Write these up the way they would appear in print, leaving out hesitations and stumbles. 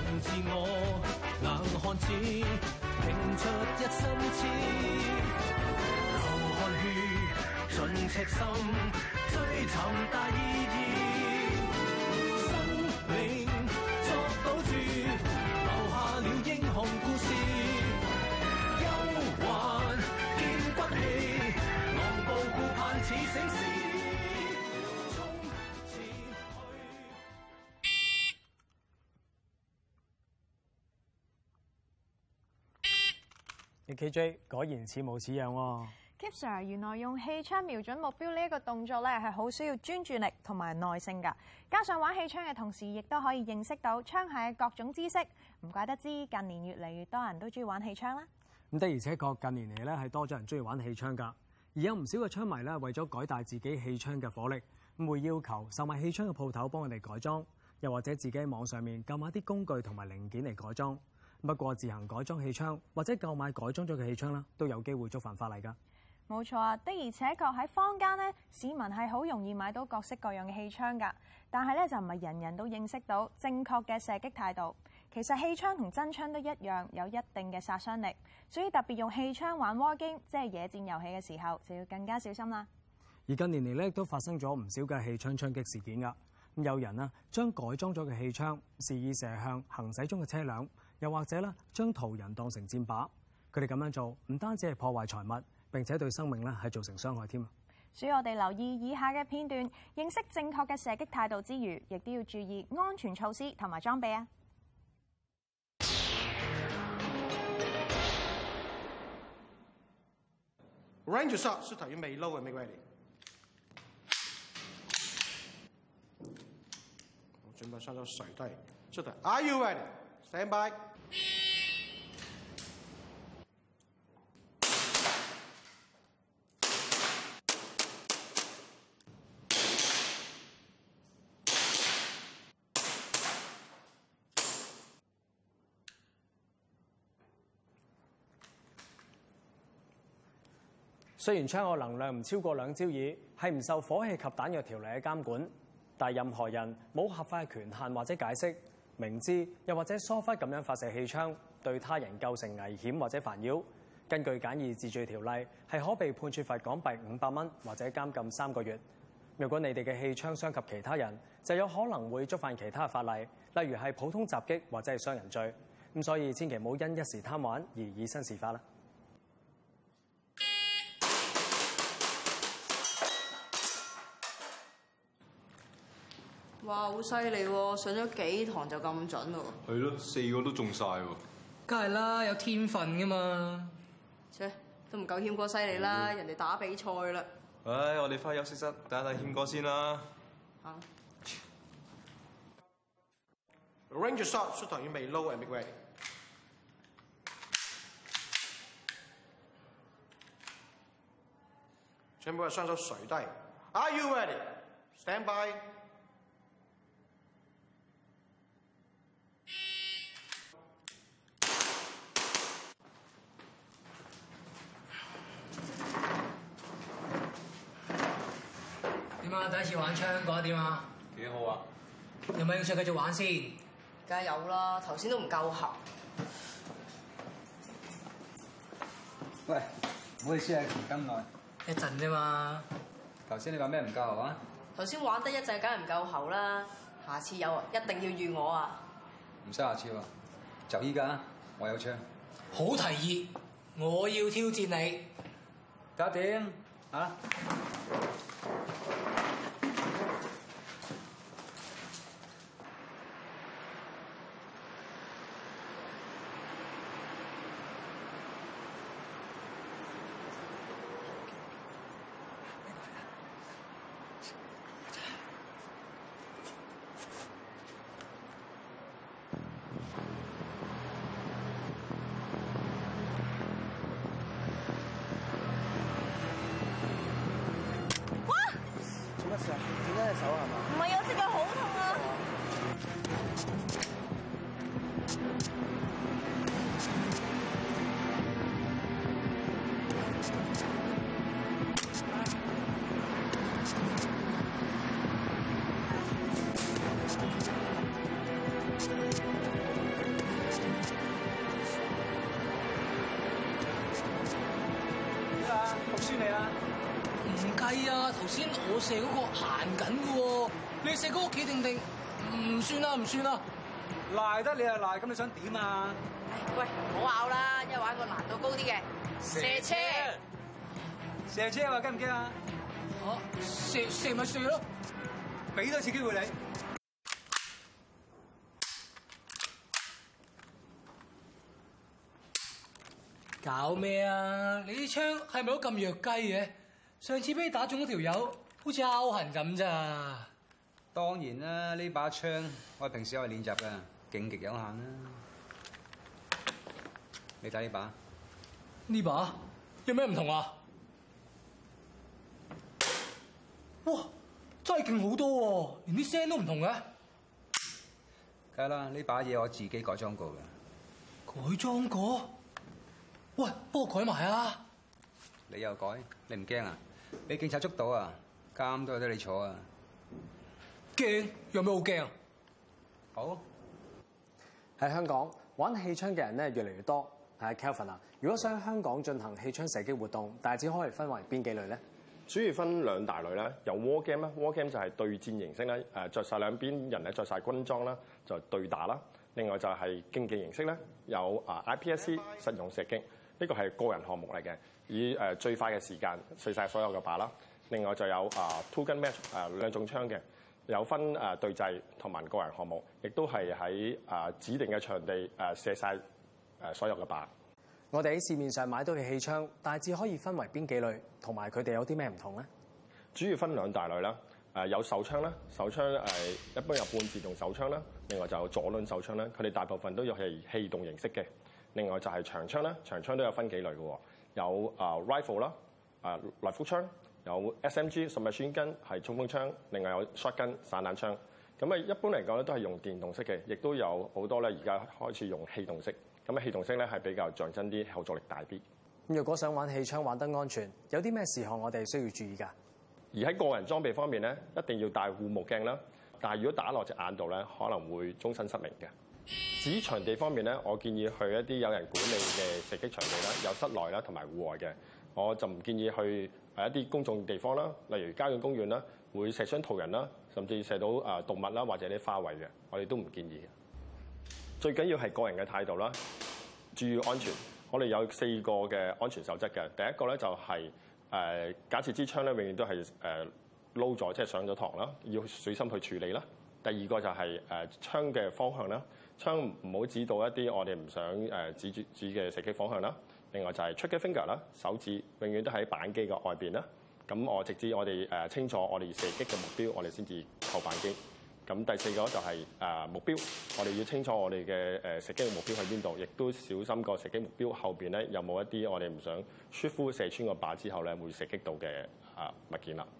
自我，硬漢子拼出一身刺，流汗血盡赤心，追尋大意義，生命作賭注，留下了英雄故事，憂患見骨氣，昂步顧盼似醒獅。 KJ 果然似模似樣喎。 Kip Sir， 原來用氣槍瞄準目標呢一個動作咧，係好需要專注力同埋耐性㗎。加上玩氣槍嘅同時，亦都可以認識到槍械嘅各種知識。唔怪得知近年越嚟越多人都中意玩氣槍啦。 咁的而且確近年嚟咧係多咗人中意玩氣槍㗎。而有唔少嘅槍迷咧，為咗改大自己氣槍嘅火力，咁會要求售賣氣槍嘅鋪頭幫佢哋改裝，又或者自己喺網上面購買啲工具同埋零件嚟改裝。不過自行改裝氣槍或者購買改裝咗嘅氣槍啦，都有機會觸犯法例㗎。 冇錯啊，的而且確喺坊間咧，市民係好容易買到各式各樣嘅氣槍㗎。但係咧就唔係人人都認識到正確嘅射擊態度。其實氣槍同真槍都一樣有一定嘅殺傷力，所以特別用氣槍玩 war game，即係野戰遊戲嘅時候，就要更加小心啦。 而近年嚟咧都發生咗唔少嘅氣槍槍擊事件㗎。咁有人啊將改裝咗嘅氣槍肆意射向行駛中嘅車輛。又或者咧，將途人當成箭靶，佢哋咁樣做唔單止係破壞財物，並且對生命咧係造成傷害添。 所以我哋留意以下嘅片段，認識正確嘅射擊態度之餘，亦都要注意安全措施同埋裝備啊。 Range shot 是等於未 low 嘅 make ready。我準備上咗水低，是的 ，Are you ready? Stand by。 雖然槍嘅能量唔超過2焦耳，係唔受火器及彈藥條例嘅監管，但任何人冇合法嘅權限或者解釋，明知又或者疏忽咁樣發射氣槍，對他人構成危險或者煩擾，根據簡易治罪條例，係可被判處罰港幣500蚊或者監禁3個月。如果你哋嘅氣槍傷及其他人，就有可能會觸犯其他法例，例如係普通襲擊或者係傷人罪。咁所以千祈唔好因一時貪玩而以身試法啦。 哇，好犀利喎！上咗幾堂就咁準喎。 係咯，4個都中晒喎。 梗係啦，有天分噶嘛。 切，都唔夠謙哥犀利啦，人哋打比賽啦。 唉，我哋翻休息室睇睇謙哥先啦。 嚇。 Range shot 是等於未 low 嘅 make ready。全部係雙手垂低。Are you ready? Stand by。 點啊？第一次玩槍，覺得點啊？ 幾好啊！ 有冇興趣繼續玩先？ 梗係有啦，頭先都唔夠喉。 喂，唔好意思啊，咁耐。 一陣啫嘛。 頭先你話咩唔夠喉啊？ 頭先玩得一陣，梗係唔夠喉啦。下次有，一定要預我啊！ 唔使下次喎，就依家，我有槍。 好提議，我要挑戰你。 搞掂啊！ 計啊！頭先我射嗰個行緊嘅喎，你射嗰個企定定，唔算啦，唔算啦。 賴得你就賴，咁你想點啊？ 喂，唔好拗啦，一玩個難度高啲嘅射車。 射車話驚唔驚啊？ 射咪射咯， 俾多次機會你。 搞咩啊？你啲槍係咪都咁弱雞嘅？上次俾你打中嗰條友，好似拗痕咁咋？ 當然啦，呢把槍我平時有練習㗎，勁極有限啦。你睇呢把？ 呢把有咩唔同啊？哇！真係勁好多喎，連啲聲都唔同嘅。 梗係啦，呢把嘢我自己改裝過嘅。 改裝過？喂，幫我改埋啊！ 你又改？你唔驚啊？俾警察捉到啊，監都有得你坐啊！ 驚？有咩好驚啊？ 好。 喺香港玩氣槍嘅人咧越嚟越多。係 Kelvin 啊，如果想喺香港進行氣槍射擊活動，大致可以分為邊幾類咧？ 主要分兩大類啦，有 war game 啦 ，war game 就係對戰形式咧，着晒兩邊人咧着晒軍裝啦，就對打啦。另外就係競技形式咧，有IPSC 實用射擊，呢個係個人項目嚟嘅，以最快嘅時間射晒所有嘅靶啦。另外就有two gun match 兩種槍嘅，有分對制同埋個人項目，亦都係喺指定嘅場地射晒所有嘅靶。 我哋喺市面上買到嘅氣槍，大致可以分為邊幾類，同埋佢哋有啲咩唔同咧？ 主要分兩大類啦，有手槍啦，手槍一般有半自動手槍啦，另外就有左輪手槍啦，佢哋大部分都有係氣動形式嘅。另外就係長槍啦，長槍都有分幾類嘅喎，有rifle 啦，來福槍，有 SMG submachine gun 係衝鋒槍，另外有 shotgun 散彈槍。咁一般嚟講咧都係用電動式嘅，亦都有好多咧而家開始用氣動式。咁氣動式咧係比較象真啲，後坐力大啲。 咁如果想玩氣槍玩得安全，有啲咩事項我哋需要注意㗎？ 而喺個人裝備方面咧，一定要戴護目鏡啦。但係如果打落隻眼度咧，可能會終身失明嘅。至於場地方面咧，我建議去一啲有人管理嘅射擊場地啦，有室內啦同埋戶外嘅。我就唔建議去一啲公眾地方啦，例如郊野公園啦，會射傷途人啦，甚至射到動物啦或者啲花卉嘅，我哋都唔建議嘅。最緊要係個人嘅態度啦，注意安全。我哋有4個嘅安全守則嘅。第一個咧就係假設支槍咧永遠都係撈咗，即係上咗膛啦，要小心去處理啦。第二個就係槍嘅方向啦，槍唔好指到一啲我哋唔想指嘅射擊方向啦。另外就係 trigger finger 啦，手指永遠都喺扳機嘅外邊啦。咁直至我哋清楚我哋射擊嘅目標，我哋先至扣扳機。咁第4個就係目標，我哋要清楚我哋嘅射擊嘅目標喺邊度，亦都小心個射擊目標後邊咧有冇一啲我哋唔想 shoot through 射穿個靶之後咧會射擊到嘅物件啦。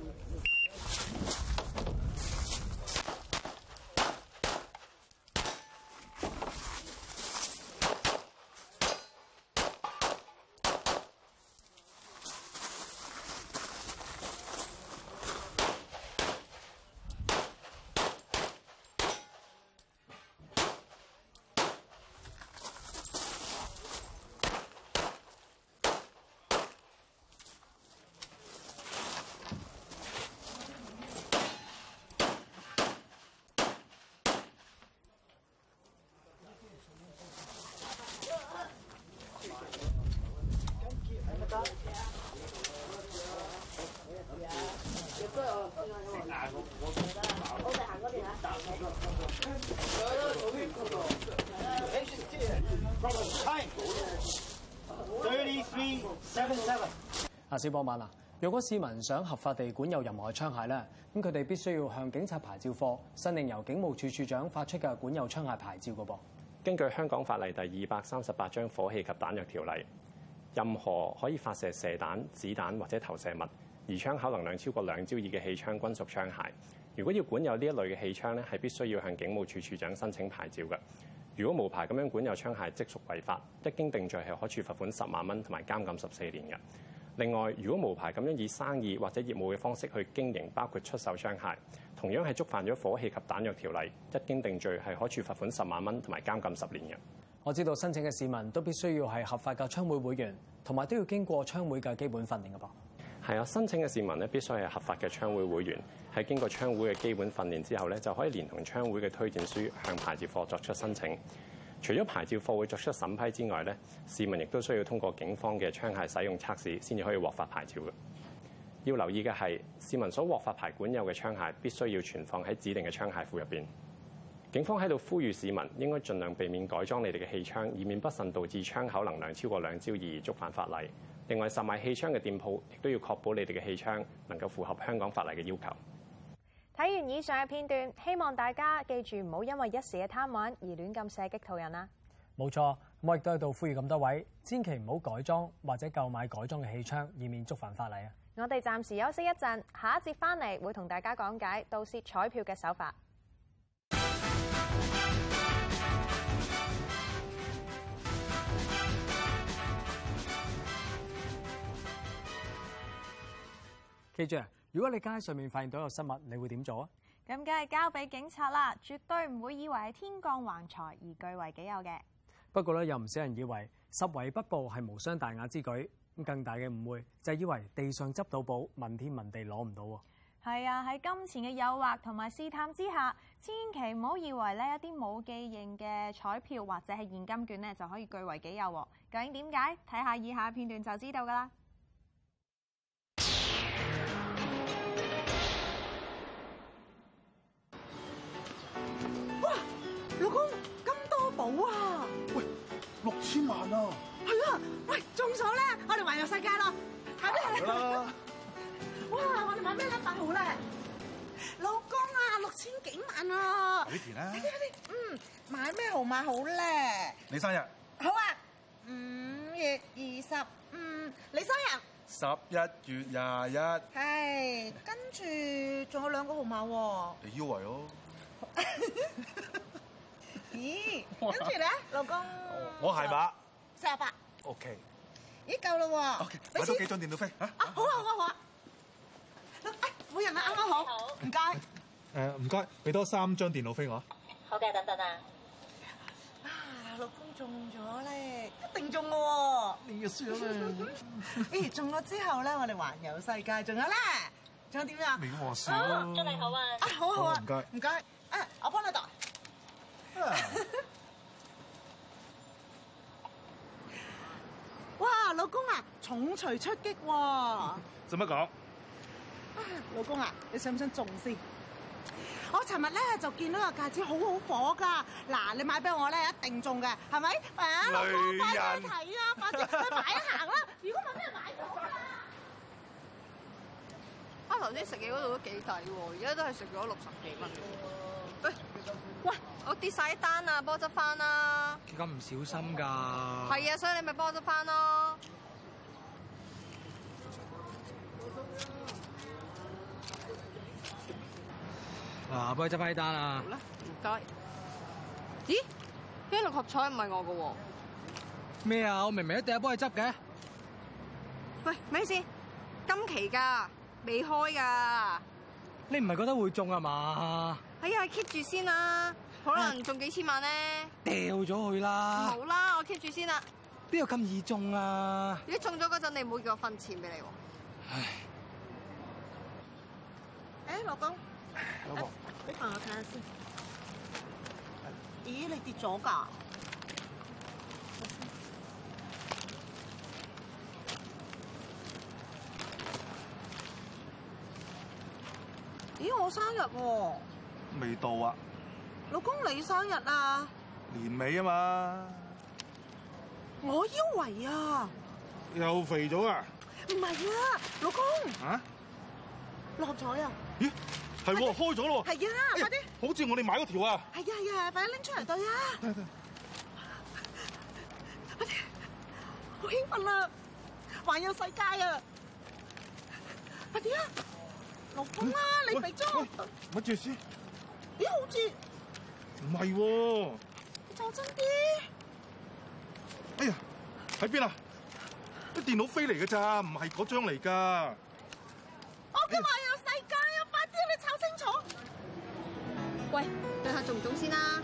小波曼啊，如果市民想合法地管有任何嘅槍械咧，咁佢哋必須要向警察牌照課申領由警務處處長發出嘅管有槍械牌照嘅噃。 根據香港法例第238章火器及彈藥條例，任何可以發射射彈、子彈或者投射物，而槍口能量超過2焦耳嘅氣槍均屬槍械。如果要管有呢一類嘅氣槍咧，係必須要向警務處處長申請牌照嘅。如果無牌咁樣管有槍械，即屬違法，一經定罪係可處罰款10萬蚊同埋監禁14年嘅。另外，如果無牌咁樣以生意或者業務嘅方式去經營，包括出售槍械，同樣係觸犯咗火器及彈藥條例，一經定罪係可處罰款10萬蚊同埋監禁10年嘅。 我知道申請嘅市民都必須要係合法嘅槍會會員，同埋都要經過槍會嘅基本訓練嘅噃。 係啊，申請嘅市民咧必須係合法嘅槍會會員，喺經過槍會嘅基本訓練之後咧，就可以連同槍會嘅推薦書向牌照課作出申請。除咗牌照課會作出審批之外咧，市民亦都需要通過警方嘅槍械使用測試先至可以獲發牌照嘅。要留意嘅係，市民所獲發牌管有嘅槍械必須要存放喺指定嘅槍械庫入邊。警方喺度呼籲市民應該盡量避免改裝你哋嘅氣槍，以免不慎導致槍口能量超過2焦耳而觸犯法例。另外，售賣氣槍嘅店鋪亦都要確保你哋嘅氣槍能夠符合香港法例嘅要求。 睇完以上嘅片段，希望大家記住唔好因為一時嘅貪玩而亂咁射擊途人啦。 冇錯，我亦都喺度呼籲咁多位，千祈唔好改裝或者購買改裝嘅氣槍，以免觸犯法例啊！ 我哋暫時休息一陣，下一節翻嚟會同大家講解盜竊彩票嘅手法。 記住啊，如果你街上面發現到有失物，你會點做啊？ 咁梗係交俾警察啦，絕對唔會以為係天降橫財而據為己有嘅。 不過咧，有唔少人以為拾遺不報係無傷大雅之舉，咁更大嘅誤會就係以為地上執到寶，問天問地攞唔到喎。 係啊，喺金錢嘅誘惑同埋試探之下，千祈唔好以為呢一啲冇記認嘅彩票或者係現金券呢就可以據為己有喎。究竟點解？睇下以下片段就知道㗎啦。 老公，咁多寶啊！ 喂，6000萬啊！ 係啊！喂，中咗咧，我哋環遊世界咯！係咩？ 啦！ 哇！我哋買咩禮品好咧？老公啊，6000幾萬啊！ 俾田啦！ 買咩號碼好咧？ 你生日？ 好啊！5月25，你生日 ？11月21。 係，跟住仲有2個號碼喎。 你腰圍咯。 咦，跟住咧，老公， 我係馬 48。 OK。 咦，夠啦喎。 OK，買多幾張電腦飛嚇。 好啊，好啊。每人啊，啱啱好。唔該。 唔該，俾多3張電腦飛我。 好嘅，等等啊。老公中咗咧，一定中嘅喎。 你嘅輸咗啦。 咦，中咗之後咧，我哋環遊世界，仲有咧，仲有點樣？ 你和事咯。 祝你好啊！好啊，好啊。唔該。唔該。我幫你度。哇，老公啊，重錘出擊喎！ 做乜講？ 老公啊，你想唔想中先？我尋日咧就見到個戒指好好火㗎，嗱，你買俾我咧一定中嘅，係咪？老公，快啲去睇啊，快啲去買一行啦！如果冇咩買到啊！ 頭先食嘢嗰度都幾抵喎，而家都係食咗60幾蚊。喂，我跌晒單啊，幫我執翻啦！ 咁唔小心㗎。 係啊，所以你咪幫我執翻咯。 嗱，幫你執翻啲單啊！ 好啦，唔該。咦？呢6合彩唔係我嘅喎。 咩啊？我明明一定係幫你執嘅。 喂，咩事？今期㗎，未開㗎。 你唔係覺得會中啊嘛？ 哎呀 ，keep 住先啦，可能中幾千萬咧。 掉咗佢啦！ 好啦，我 keep 住先啦。 邊有咁易中啊？ 如果中咗嗰陣，你唔好叫我分錢俾你喎。 唉。老公。老婆。俾飯我睇下先。咦，你跌咗㗎？咦，我生日喎！ 未到啊！ 老公，你生日啊？ 年尾啊嘛！ 我腰圍啊！ 又肥咗啊！ 唔係啊，老公！ 啊？ 落彩啊！ 咦，係喎，開咗咯！ 係啊，快啲！ 好似我哋買嗰條啊！ 係啊，快啲拎出嚟對啊！快啲！好興奮啊！環遊世界啊！快啲啊！老公啊，你肥咗！ 咪住先。 咦，好似唔係喎。 你坐真啲。 哎呀，喺邊啊？啲電腦飛嚟㗎咋，唔係嗰張嚟㗎。 我嘅環遊世界啊！快啲，你炒清楚。 喂，對下中唔中先啦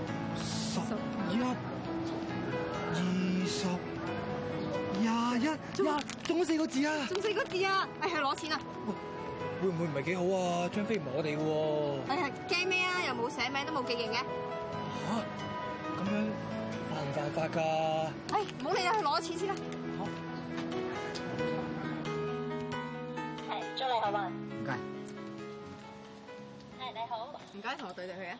11、20、21。 呀，中咗4個字啊！ 中4個字啊！去攞錢啊！ 會唔會唔係幾好啊？張飛唔係我哋喎。 驚咩啊？又冇寫名，都冇記認嘅。 嚇！咁樣犯唔犯法㗎？ 唔好理啦，去攞錢先啦。 祝你好運。 唔該。 你好。 唔該，同我對佢啊。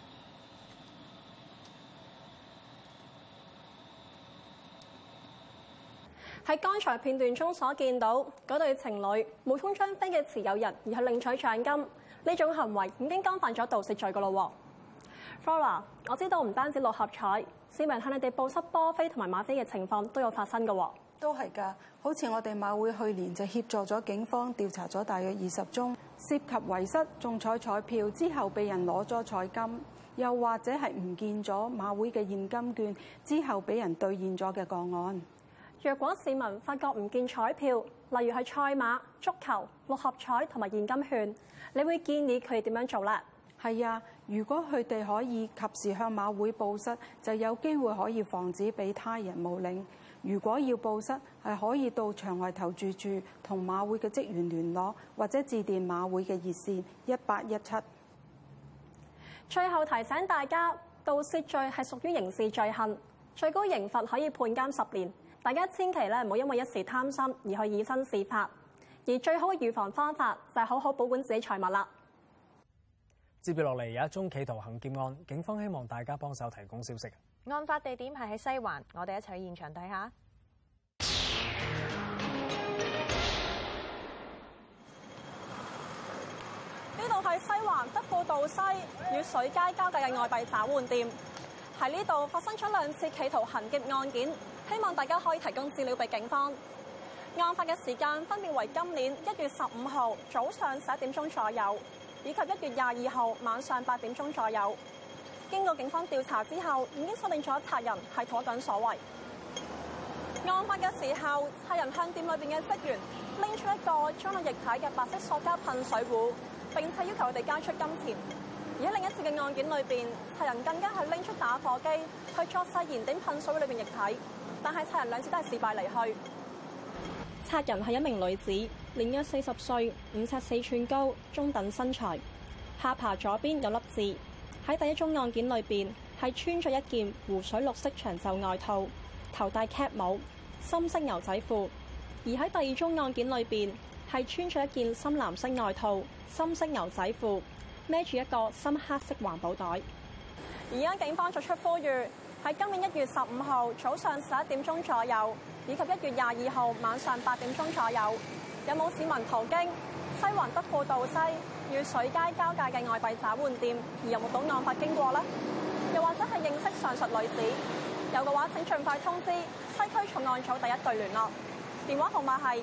喺剛才片段中所見到嗰對情侶冒充張飛嘅持有人而去領取獎金，呢種行為已經干犯咗盜竊罪㗎咯喎。Flora， 我知道唔單止六合彩，市民向你哋報失波飛同埋馬飛嘅情況都有發生㗎喎。 都係㗎，好似我哋馬會去年就協助咗警方調查咗大約20宗涉及遺失中彩彩票之後被人攞咗彩金，又或者係唔見咗馬會嘅現金券之後俾人兌現咗嘅個案。 若果市民發覺唔見彩票，例如係賽馬、足球、六合彩同埋現金券，你會建議佢哋點樣做呢？ 係啊，如果佢哋可以及時向馬會報失，就有機會可以防止俾他人冒領。如果要報失，係可以到場外投注處同馬會嘅職員聯絡，或者致電馬會嘅熱線1817。 最後提醒大家，盜竊罪係屬於刑事罪行，最高刑罰可以判監10年。大家千祈咧唔好因為一時貪心而去以身試法，而最好嘅預防方法就係好好保管自己財物啦。 接住落嚟有一宗企圖行劫案，警方希望大家幫手提供消息。 案發地點係喺西環，我哋一齊去現場睇下。 呢度係西環德輔道西與水街交界嘅外幣找換店，喺呢度發生咗2次企圖行劫案件。希望大家可以提供資料俾警方。案發嘅時間分別為今年1月15號早上11點鐘左右，以及1月22號晚上8點鐘左右。經過警方調查之後，已經鎖定咗賊人係同一個人所為。案發嘅時候，賊人向店裏邊嘅職員拎出一個裝有液體嘅白色塑膠噴水壺，並且要求佢哋交出金錢。而喺另一次嘅案件裏邊，賊人更加係拎出打火機去作勢燃點噴水壺裏邊液體。但係賊人2次都係事敗離去。賊人係一名女子，年約40歲，5尺4寸高，中等身材，下巴左邊有粒痣。喺第一宗案件裏邊係穿咗一件湖水綠色長袖外套，頭戴 cap 帽，深色牛仔褲；而喺第二宗案件裏邊係穿咗一件深藍色外套、深色牛仔褲，孭住一個深黑色環保袋。而家警方作出呼籲。喺今年1月15號早上11點鐘左右，以及1月22號晚上8點鐘左右，有冇市民途經西環德輔道西與水街交界嘅外幣找換店而有目睹案發經過呢？又或者係認識上述女子？有嘅話請盡快通知西區重案組第1隊聯絡，電話號碼係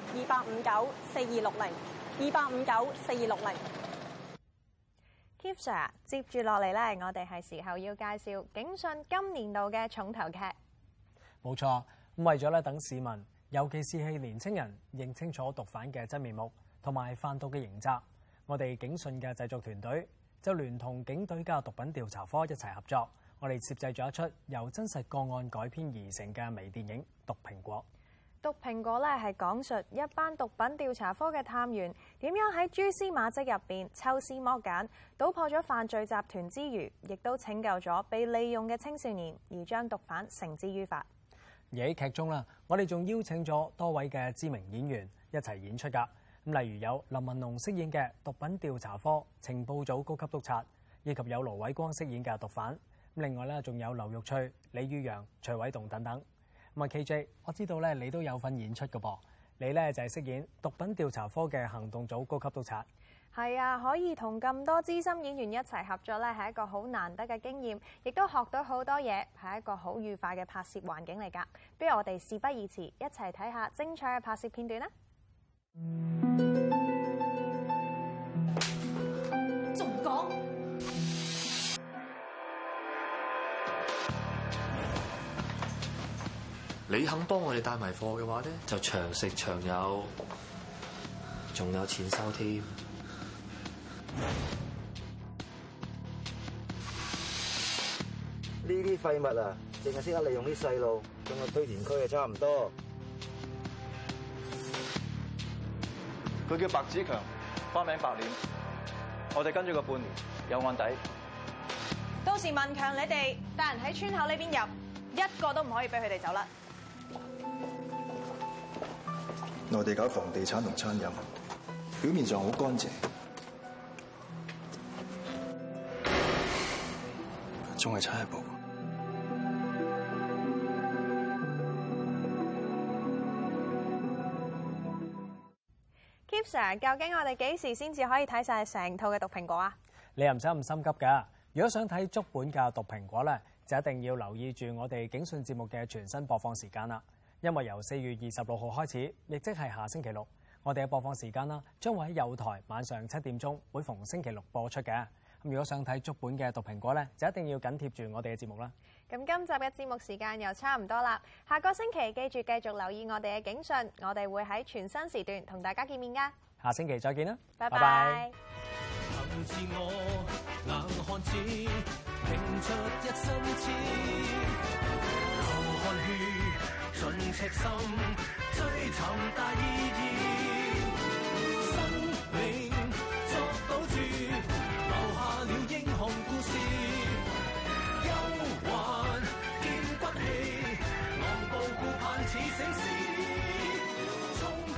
28594260，28594260。 Keep Sir， 接住落嚟咧，我哋係時候要介紹警訊今年度嘅重頭劇。 冇錯，咁為咗咧等市民，尤其是係年青人認清楚毒販嘅真面目同埋販毒嘅刑責，我哋警訊嘅製作團隊就聯同警隊嘅毒品調查科一齊合作，我哋攝製咗一出由真實個案改編而成嘅微電影《毒蘋果》。 毒蘋果咧係講述一班毒品調查科嘅探員點樣喺蛛絲馬跡入邊抽絲剝繭，搗破咗犯罪集團之餘，亦都拯救咗被利用嘅青少年，而將毒販繩之於法。 而喺劇中啦，我哋仲邀請咗多位嘅知名演員一齊演出㗎。咁例如有林文龍飾演嘅毒品調查科情報組高級督察，以及有盧偉光飾演嘅毒販。另外咧仲有劉玉翠、李宇陽、徐偉棟等等。咁啊 KJ， 我知道咧你都有份演出㗎噃，你咧就係飾演毒品調查科嘅行動組高級督察。 係啊，可以同咁多資深演員一齊合作咧，係一個好難得嘅經驗，亦都學到好多嘢，係一個好愉快嘅拍攝環境嚟㗎。不如我哋事不宜遲，一齊睇下精彩嘅拍攝片段啦！ 仲講？ 你肯幫我哋帶埋貨嘅話咧，就長食長有，仲有錢收添。 呢啲廢物啊，淨係識得利用啲細路，仲有堆填區啊，差唔多。 佢叫白子強，花名白臉。我哋跟咗佢半年，有案底。 到時文強你哋帶人喺村口呢邊入，一個都唔可以俾佢哋走啦。 內地搞房地產同餐飲，表面上好乾淨，仲係差一步。 Keep Sir， 究竟我哋幾時先至可以睇晒成套嘅毒蘋果啊？ 你又唔使咁心急㗎。如果想睇足本嘅毒蘋果咧，就一定要留意住我哋警訊節目嘅全新播放時間啦。因為由4月26號開始，亦即係下星期六，我哋嘅播放時間啦，將會喺友台晚上7點鐘，每逢星期六播出嘅。咁如果想睇足本嘅毒蘋果咧，就一定要緊貼住我哋嘅節目啦。 咁今集嘅節目時間又差唔多啦，下個星期記住繼續留意我哋嘅警訊，我哋會喺全新時段同大家見面㗎。 下星期再見啦， 拜拜。 憑自我硬漢子，拼出一身刺，流汗血盡赤心，追尋大意義，生命作賭注，留下了英雄故事，憂患見骨氣，昂步顧盼似醒獅。